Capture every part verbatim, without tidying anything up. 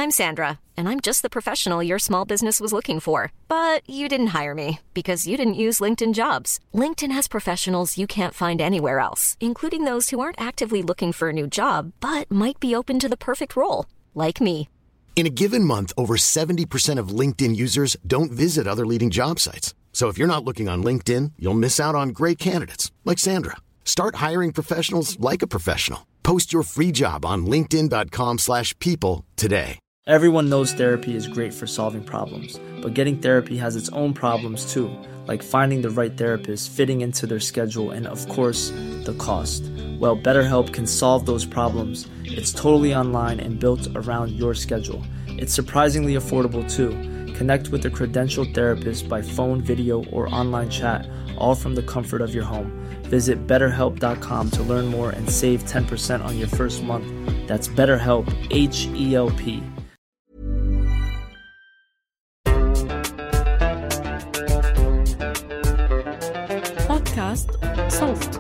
I'm Sandra, and I'm just the professional your small business was looking for. But you didn't hire me because you didn't use LinkedIn Jobs. LinkedIn has professionals you can't find anywhere else, including those who aren't actively looking for a new job, but might be open to the perfect role, like me. In a given month, over seventy percent of LinkedIn users don't visit other leading job sites. So if you're not looking on LinkedIn, you'll miss out on great candidates like Sandra. Start hiring professionals like a professional. Post your free job on linkedin.com slash people today. Everyone knows therapy is great for solving problems, but getting therapy has its own problems too, like finding the right therapist, fitting into their schedule, and of course, the cost. Well, BetterHelp can solve those problems. It's totally online and built around your schedule. It's surprisingly affordable too. Connect with a credentialed therapist by phone, video, or online chat, all from the comfort of your home. Visit better help dot com to learn more and save ten percent on your first month. That's BetterHelp, H E L P. بودكاست صوت.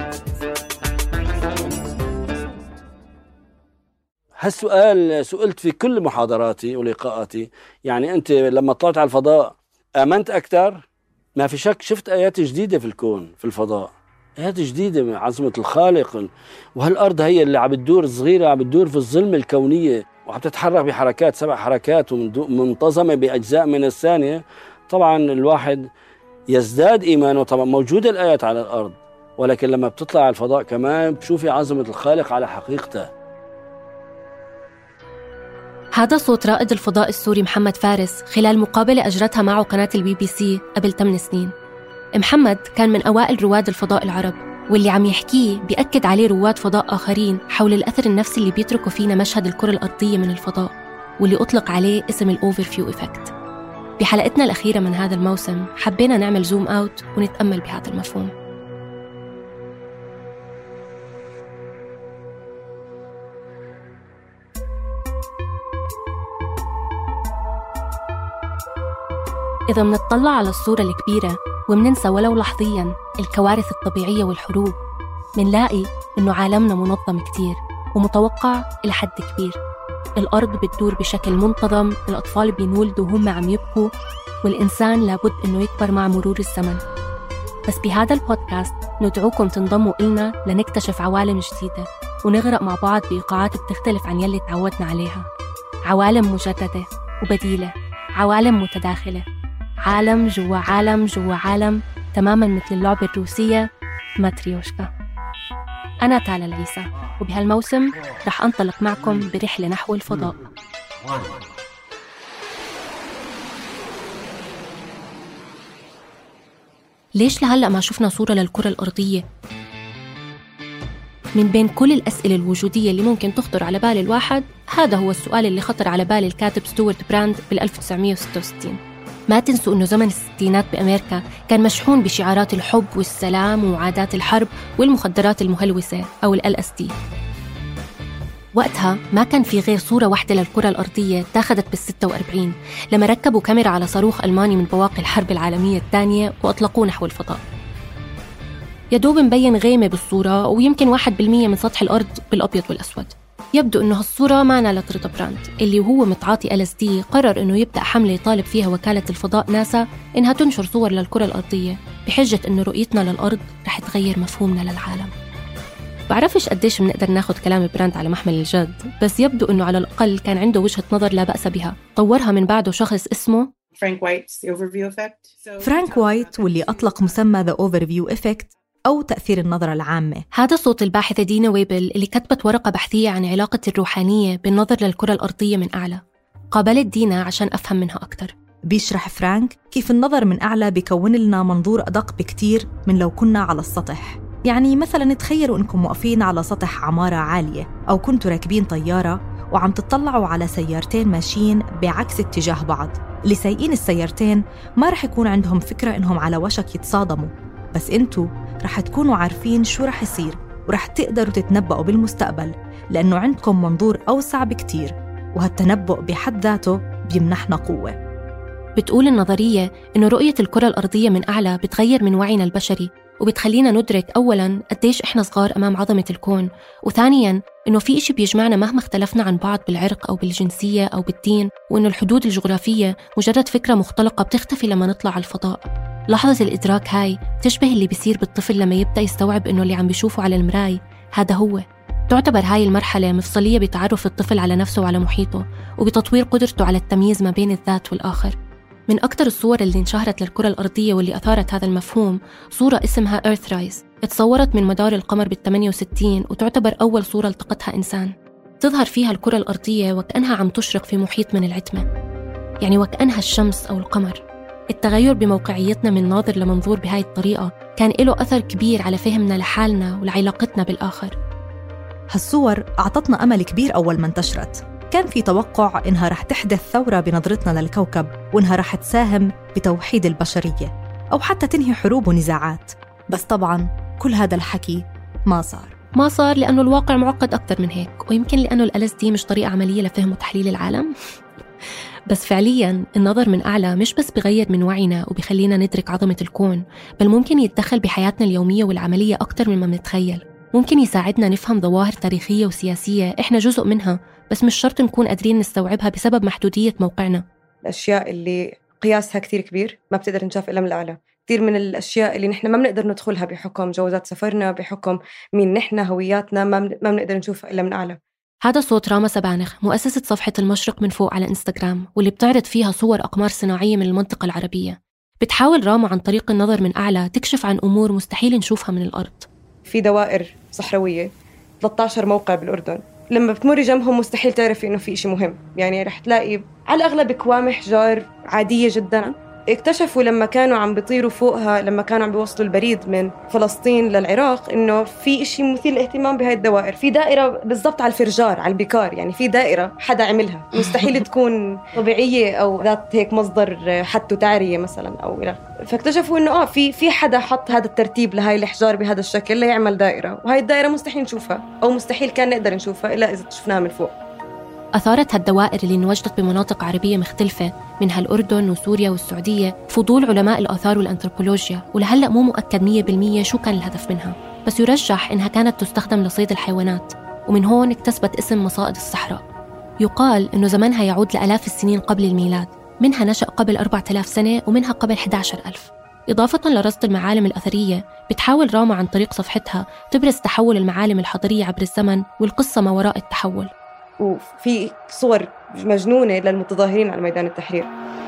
هالسؤال سئلت في كل محاضراتي ولقاءاتي. يعني أنت لما طلعت على الفضاء آمنت أكثر؟ ما في شك شفت آيات جديدة في الكون، في الفضاء، آيات جديدة من عظمة الخالق. وهالأرض هي اللي عم بتدور صغيرة، عم بتدور في الظلمة الكونية وعم تتحرك بحركات سبع حركات ومنتظمة بأجزاء من الثانية. طبعا الواحد يزداد إيمانه. طبعا موجودة الآيات على الأرض، ولكن لما بتطلع على الفضاء كمان بتشوفي عظمة الخالق على حقيقته. هذا صوت رائد الفضاء السوري محمد فارس خلال مقابلة أجرتها معه قناة البي بي سي قبل ثمان سنين. محمد كان من أوائل رواد الفضاء العرب، واللي عم يحكيه بيأكد عليه رواد فضاء آخرين حول الأثر النفسي اللي بيتركوا فينا مشهد الكرة الأرضية من الفضاء، واللي أطلق عليه اسم الأوفرفيو إفكت. بحلقتنا الأخيرة من هذا الموسم حبينا نعمل زوم أوت ونتأمل بهذا المفهوم. إذا منطلع على الصورة الكبيرة ومننسى ولو لحظياً الكوارث الطبيعية والحروب، منلاقي إنه عالمنا منظم كتير ومتوقع إلى حد كبير. الأرض بتدور بشكل منتظم، الأطفال بينولدوا وهم عم يبكوا، والإنسان لابد إنه يكبر مع مرور الزمن. بس بهذا البودكاست ندعوكم تنضموا إلنا لنكتشف عوالم جديدة ونغرق مع بعض بإيقاعات بتختلف عن يلي تعودنا عليها. عوالم مجددة وبديلة، عوالم متداخلة، عالم جوا عالم جوا عالم، تماماً مثل اللعبة الروسية ماتريوشكا. أنا تالا العيسى، وبهالموسم رح أنطلق معكم برحلة نحو الفضاء. ليش لهلأ ما شفنا صورة للكرة الأرضية؟ من بين كل الأسئلة الوجودية اللي ممكن تخطر على بال الواحد، هذا هو السؤال اللي خطر على بال الكاتب ستوارت براند بال ألف وتسعمية وستة وستين. ما تنسوا أنه زمن الستينات بأمريكا كان مشحون بشعارات الحب والسلام وعادات الحرب والمخدرات المهلوسة أو ال إل إس دي. وقتها ما كان في غير صورة واحدة للكرة الأرضية تاخدت بالستة وأربعين لما ركبوا كاميرا على صاروخ ألماني من بواقي الحرب العالمية الثانية وأطلقوه نحو الفضاء. يدوب مبين غيمة بالصورة ويمكن واحد بالمية من سطح الأرض بالأبيض والأسود. يبدو أنه هالصورة ما نالت رضا براند، اللي وهو متعاطي إل إس دي قرر أنه يبدأ حملة يطالب فيها وكالة الفضاء ناسا إنها تنشر صور للكرة الأرضية بحجة أنه رؤيتنا للأرض رح تغير مفهومنا للعالم. بعرفش قديش بنقدر ناخد كلام براند على محمل الجد، بس يبدو أنه على الأقل كان عنده وجهة نظر لا بأس بها، طورها من بعده شخص اسمه فرانك وايت. فرانك وايت، واللي أطلق مسمى The Overview Effect أو تأثير النظرة العامة. هذا صوت الباحثة دينا ويبل اللي كتبت ورقة بحثية عن علاقة الروحانية بالنظر للكرة الأرضية من أعلى. قابلت دينا عشان أفهم منها أكتر. بيشرح فرانك كيف النظر من أعلى بيكون لنا منظور أدق بكتير من لو كنا على السطح. يعني مثلاً تخيلوا إنكم واقفين على سطح عمارة عالية، أو كنتوا راكبين طيارة وعم تطلعوا على سيارتين ماشيين بعكس اتجاه بعض. اللي سايقين السيارتين ما رح يكون عندهم فكرة إنهم على وشك يتصادموا، بس انتوا رح تكونوا عارفين شو رح يصير ورح تقدروا تتنبؤوا بالمستقبل، لأنه عندكم منظور أوسع بكتير، وهالتنبؤ بحد ذاته بيمنحنا قوة. بتقول النظرية إنه رؤية الكرة الأرضية من أعلى بتغير من وعينا البشري وبتخلينا ندرك أولاً قديش إحنا صغار أمام عظمة الكون، وثانياً إنه في إشي بيجمعنا مهما اختلفنا عن بعض بالعرق أو بالجنسية أو بالدين، وإنه الحدود الجغرافية مجرد فكرة مختلقة بتختفي لما نطلع على الفضاء. لحظة الإدراك هاي تشبه اللي بيصير بالطفل لما يبدأ يستوعب إنه اللي عم بيشوفه على المراي هذا هو. تعتبر هاي المرحلة مفصلية بتعرف الطفل على نفسه وعلى محيطه، وبتطوير قدرته على التمييز ما بين الذات والآخر. من أكتر الصور اللي انشهرت للكرة الأرضية واللي أثارت هذا المفهوم صورة اسمها Earthrise، اتصورت من مدار القمر بالثمانية وستين وتعتبر أول صورة التقطها إنسان. تظهر فيها الكرة الأرضية وكأنها عم تشرق في محيط من العتمة، يعني وكأنها الشمس أو القمر. التغير بموقعيتنا من ناظر لمنظور بهاي الطريقة كان له أثر كبير على فهمنا لحالنا ولعلاقتنا بالآخر. هالصور أعطتنا أمل كبير أول ما انتشرت. كان في توقع إنها رح تحدث ثورة بنظرتنا للكوكب، وإنها رح تساهم بتوحيد البشرية أو حتى تنهي حروب ونزاعات. بس طبعاً كل هذا الحكي ما صار ما صار لأنه الواقع معقد أكتر من هيك، ويمكن لأنه ال إل إس دي مش طريقة عملية لفهم وتحليل العالم. بس فعلياً النظر من أعلى مش بس بغير من وعينا وبيخلينا ندرك عظمة الكون، بل ممكن يتدخل بحياتنا اليومية والعملية أكتر مما بنتخيل. ممكن يساعدنا نفهم ظواهر تاريخية وسياسية إحنا جزء منها، بس مش شرط نكون قادرين نستوعبها بسبب محدودية موقعنا. الأشياء اللي قياسها كتير كبير ما بتقدر نشاف إلا من الأعلى. كتير من الأشياء اللي نحن ما بنقدر ندخلها بحكم جوازات سفرنا، بحكم مين نحن، هوياتنا، ما ما بنقدر نشوفها إلا من أعلى. هذا صوت راما سبانخ، مؤسسة صفحة المشرق من فوق على إنستغرام، واللي بتعرض فيها صور أقمار صناعية من المنطقة العربية. بتحاول راما عن طريق النظر من أعلى تكشف عن أمور مستحيل نشوفها من الأرض. في دوائر صحراوية ثلاثة عشر موقع بالأردن، لما بتمري جنبهم مستحيل تعرفي إنه في إشي مهم. يعني رح تلاقي على الأغلب كوام حجار عادية جداً. اكتشفوا لما كانوا عم بيطيروا فوقها، لما كانوا عم بيوصلوا البريد من فلسطين للعراق، إنه في إشي مثير للاهتمام بهاي الدوائر. في دائرة بالضبط على الفرجار، على البيكار، يعني في دائرة حدا عملها، مستحيل تكون طبيعية أو ذات هيك مصدر حتى تعرية مثلا أو إلى. فاكتشفوا إنه آه في في حدا حط هذا الترتيب لهاي الحجار بهذا الشكل ليعمل دائرة، وهاي الدائرة مستحيل نشوفها أو مستحيل كان نقدر نشوفها إلا إذا شفناها من فوق. أثارت هالدوائر اللي انوجدت بمناطق عربية مختلفة منها الأردن وسوريا والسعودية فضول علماء الآثار والأنثروبولوجيا، ولهلأ مو مؤكد مية بالمية شو كان الهدف منها، بس يرجح إنها كانت تستخدم لصيد الحيوانات، ومن هون اكتسبت اسم مصائد الصحراء. يقال إنه زمنها يعود لآلاف السنين قبل الميلاد، منها نشأ قبل أربعة آلاف سنة ومنها قبل أحد عشر ألف. إضافة لرصد المعالم الأثرية، بتحاول راما عن طريق صفحتها تبرز تحول المعالم الحضرية عبر الزمن والقصة ما وراء التحول. وفي صور مجنونة للمتظاهرين على ميدان التحرير.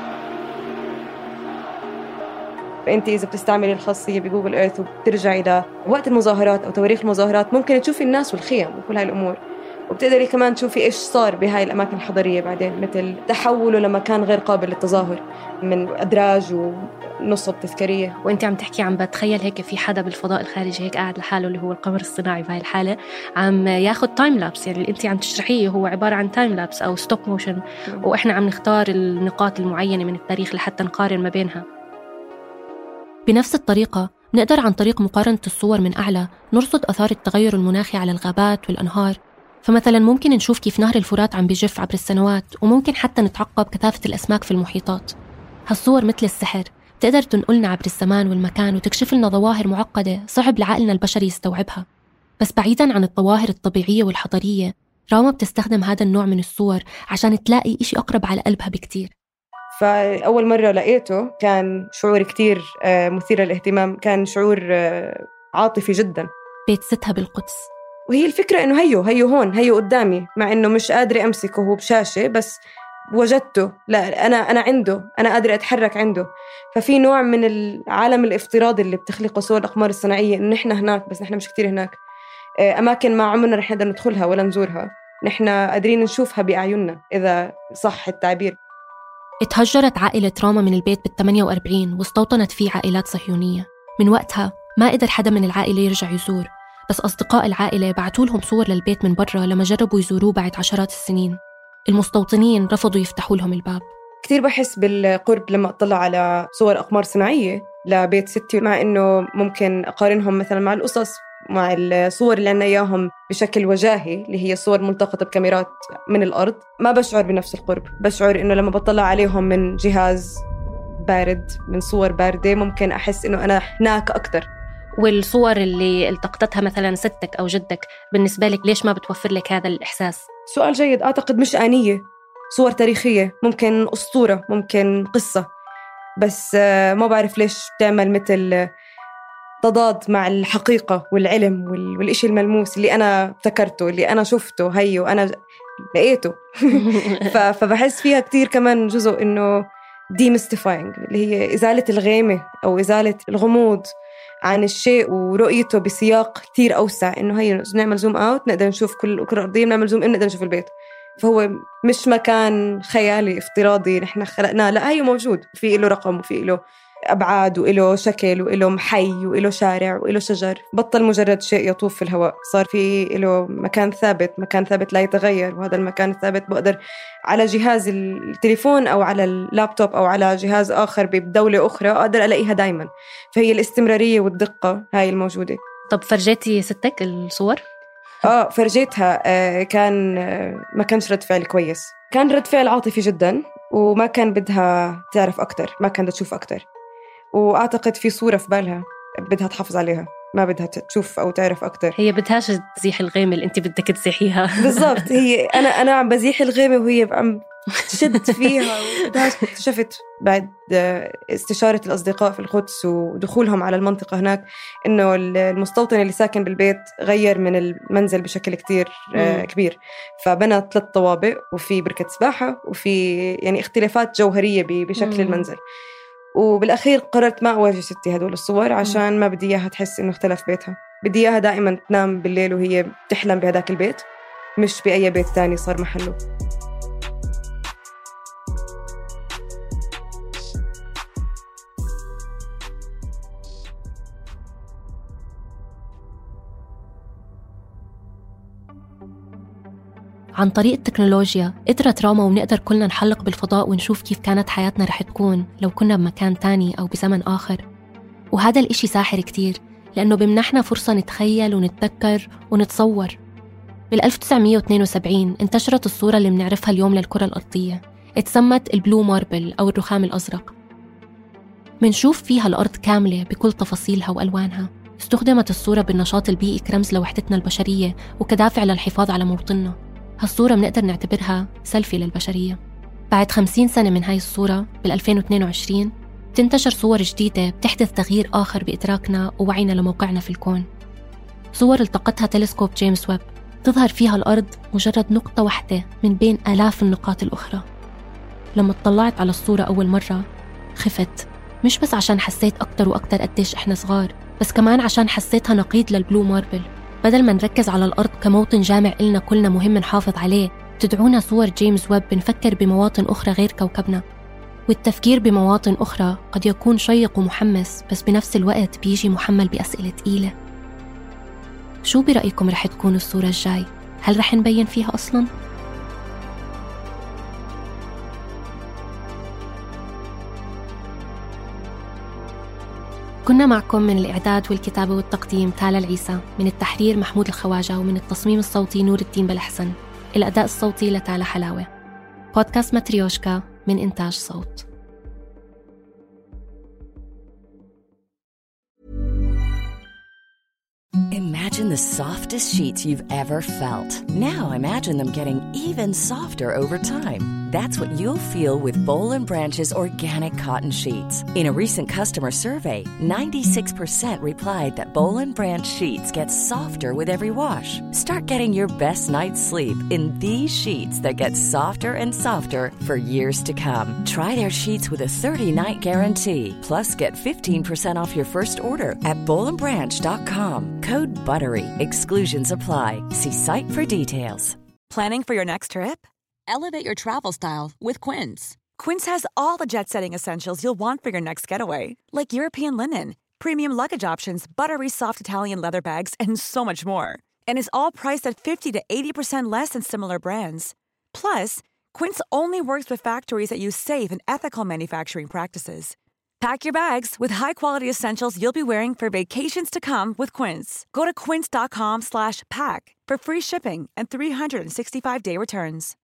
فأنت إذا بتستعملي الخاصية بجوجل إيرث وبترجعي إلى وقت المظاهرات أو تواريخ المظاهرات، ممكن تشوفي الناس والخيم وكل هاي الأمور، وبتقدري كمان تشوفي إيش صار بهاي الأماكن الحضرية بعدين، مثل تحوله لما كان غير قابل للتظاهر من أدراج ونصب تذكارية. وأنت عم تحكي عم بتخيل هيك في حدا بالفضاء الخارجي هيك قاعد لحاله اللي هو القمر الصناعي بهاي الحالة عم ياخد تايم لابس، يعني اللي أنت عم تشرحيه هو عبارة عن تايم لابس أو ستوب موشن، وإحنا عم نختار النقاط المعينة من التاريخ لحتى نقارن ما بينها. بنفس الطريقة نقدر عن طريق مقارنة الصور من أعلى نرصد أثار التغير المناخي على الغابات والأنهار. فمثلا ممكن نشوف كيف نهر الفرات عم بيجف عبر السنوات، وممكن حتى نتعقب كثافة الأسماك في المحيطات. هالصور مثل السحر، بتقدر تنقلنا عبر الزمان والمكان وتكشف لنا ظواهر معقدة صعب لعقلنا البشري يستوعبها. بس بعيداً عن الظواهر الطبيعية والحضارية، راما بتستخدم هذا النوع من الصور عشان تلاقي إشي أقرب على قلبها بكتير. فأول مرة لقيته كان شعور كتير مثير للاهتمام، كان شعور عاطفي جداً. بيت ستها بالقدس، وهي الفكرة إنه هيو هيو هون هيو قدامي، مع إنه مش قادرة أمسكه هو بشاشة، بس وجدته. لا أنا أنا عنده، أنا قادرة أتحرك عنده. ففي نوع من العالم الافتراضي اللي بتخلقه صور الأقمار الصناعية، إنه نحن هناك بس نحن مش كتير هناك، أماكن ما عمرنا رح نقدر ندخلها ولا نزورها، نحن قادرين نشوفها بأعيننا إذا صح التعبير. اتهجرت عائلة راما من البيت بالثمانية وأربعين واستوطنت فيه عائلات صهيونية. من وقتها ما قدر حدا من العائلة يرجع يزور، بس أصدقاء العائلة بعتوا لهم صور للبيت من برا لما جربوا يزوروه بعد عشرات السنين. المستوطنين رفضوا يفتحوا لهم الباب. كتير بحس بالقرب لما أطلع على صور أقمار صناعية لبيت ستي، مع إنه ممكن أقارنهم مثلا مع القصص، مع الصور اللي عنا إياهم بشكل وجاهي اللي هي صور ملتقطة بكاميرات من الأرض، ما بشعر بنفس القرب. بشعر إنه لما بطلع عليهم من جهاز بارد، من صور باردة، ممكن أحس إنه أنا هناك أكتر. والصور اللي التقطتها مثلا ستك أو جدك بالنسبة لك ليش ما بتوفر لك هذا الإحساس؟ سؤال جيد. أعتقد مش آنية، صور تاريخية، ممكن أسطورة، ممكن قصة، بس ما بعرف ليش تعمل مثل تضاد مع الحقيقة والعلم والإشي الملموس اللي أنا ابتكرته، اللي أنا شفته هي وأنا لقيته. فبحس فيها كتير كمان جزء إنه demystifying، اللي هي إزالة الغيمة أو إزالة الغموض عن الشيء ورؤيته بسياق كتير أوسع، إنه هي نعمل زوم أوت نقدر نشوف كل الكرة الأرضية، بنعمل زوم إن نقدر نشوف البيت. فهو مش مكان خيالي افتراضي نحن خلقناه، لا، هي موجود، في له رقم وفي له أبعاد وإله شكل وإله محي وإله شارع وإله شجر، بطل مجرد شيء يطوف في الهواء، صار في له مكان ثابت، مكان ثابت لا يتغير. وهذا المكان الثابت بقدر على جهاز التليفون أو على اللابتوب أو على جهاز آخر بدولة أخرى أقدر ألاقيها دايما. فهي الاستمرارية والدقة هاي الموجودة. طب فرجيتي ستك الصور؟ آه فرجيتها. آه كان آه ما كانش رد فعل كويس، كان رد فعل عاطفي جدا، وما كان بدها تعرف أكتر، ما كانت تشوف أكتر. وأعتقد في صورة في بالها بدها تحافظ عليها، ما بدها تشوف أو تعرف أكتر. هي بدهاش تزيح الغيمة اللي أنت بدك تزيحيها. بالضبط. هي أنا أنا عم بزيح الغيمة وهي عم تشد فيها. اكتشفت بعد استشارة الأصدقاء في القدس ودخولهم على المنطقة هناك إنه المستوطن اللي ساكن بالبيت غير من المنزل بشكل كتير كبير، فبنى ثلاث طوابق وفي بركة سباحة وفي يعني اختلافات جوهرية بشكل المنزل. وبالأخير قررت ما أواجه ستي هدول الصور عشان ما بدي إياها تحس إنه اختلف بيتها. بدي إياها دائما تنام بالليل وهي تحلم بهداك البيت، مش بأي بيت تاني صار محله. عن طريق التكنولوجيا قدرت راما ونقدر كلنا نحلق بالفضاء ونشوف كيف كانت حياتنا رح تكون لو كنا بمكان تاني أو بزمن آخر. وهذا الإشي ساحر كتير، لأنه بمنحنا فرصة نتخيل ونتذكر ونتصور. بال ألف وتسعمية واثنين وسبعين انتشرت الصورة اللي بنعرفها اليوم للكرة الأرضية، اتسمت البلو ماربل أو الرخام الأزرق. منشوف فيها الأرض كاملة بكل تفاصيلها وألوانها. استخدمت الصورة بالنشاط البيئي كرمز لوحدتنا البشرية وكدافع للحفاظ على موطننا. هالصورة بنقدر نعتبرها سيلفي للبشرية. بعد خمسين سنة من هاي الصورة بال ألفين واثنين وعشرين تنتشر صور جديدة بتحدث تغيير آخر بإدراكنا ووعينا لموقعنا في الكون. صور التقطها تلسكوب جيمس ويب تظهر فيها الأرض مجرد نقطة واحدة من بين آلاف النقاط الأخرى. لما اطلعت على الصورة أول مرة خفت، مش بس عشان حسيت أكتر وأكتر قديش إحنا صغار، بس كمان عشان حسيتها نقيض للبلو ماربل. بدل ما نركز على الأرض كموطن جامع إلنا كلنا مهم نحافظ عليه، تدعونا صور جيمس ويب بنفكر بمواطن أخرى غير كوكبنا. والتفكير بمواطن أخرى قد يكون شيق ومحمس، بس بنفس الوقت بيجي محمل بأسئلة تقيلة. شو برأيكم رح تكون الصورة الجاي؟ هل رح نبين فيها أصلاً؟ كنا معكم من الإعداد والكتابة والتقديم تالا العيسى، من التحرير محمود الخواجة، ومن التصميم الصوتي نور الدين بلحسن. الأداء الصوتي لتالا حلاوة. بودكاست ماتريوشكا من إنتاج صوت. Imagine the softest sheets you've ever felt. Now imagine them getting even softer over time. That's what you'll feel with Boll and Branch's organic cotton sheets. In a recent customer survey, ninety-six percent replied that Boll and Branch sheets get softer with every wash. Start getting your best night's sleep in these sheets that get softer and softer for years to come. Try their sheets with a thirty-night guarantee. Plus, get fifteen percent off your first order at boll and branch dot com. Code BUTTERY. Exclusions apply. See site for details. Planning for your next trip? Elevate your travel style with Quince. Quince has all the jet-setting essentials you'll want for your next getaway, like European linen, premium luggage options, buttery soft Italian leather bags, and so much more. And is all priced at fifty to eighty percent less than similar brands. Plus, Quince only works with factories that use safe and ethical manufacturing practices. Pack your bags with high-quality essentials you'll be wearing for vacations to come with Quince. Go to quince dot com slash pack for free shipping and three hundred sixty-five day returns.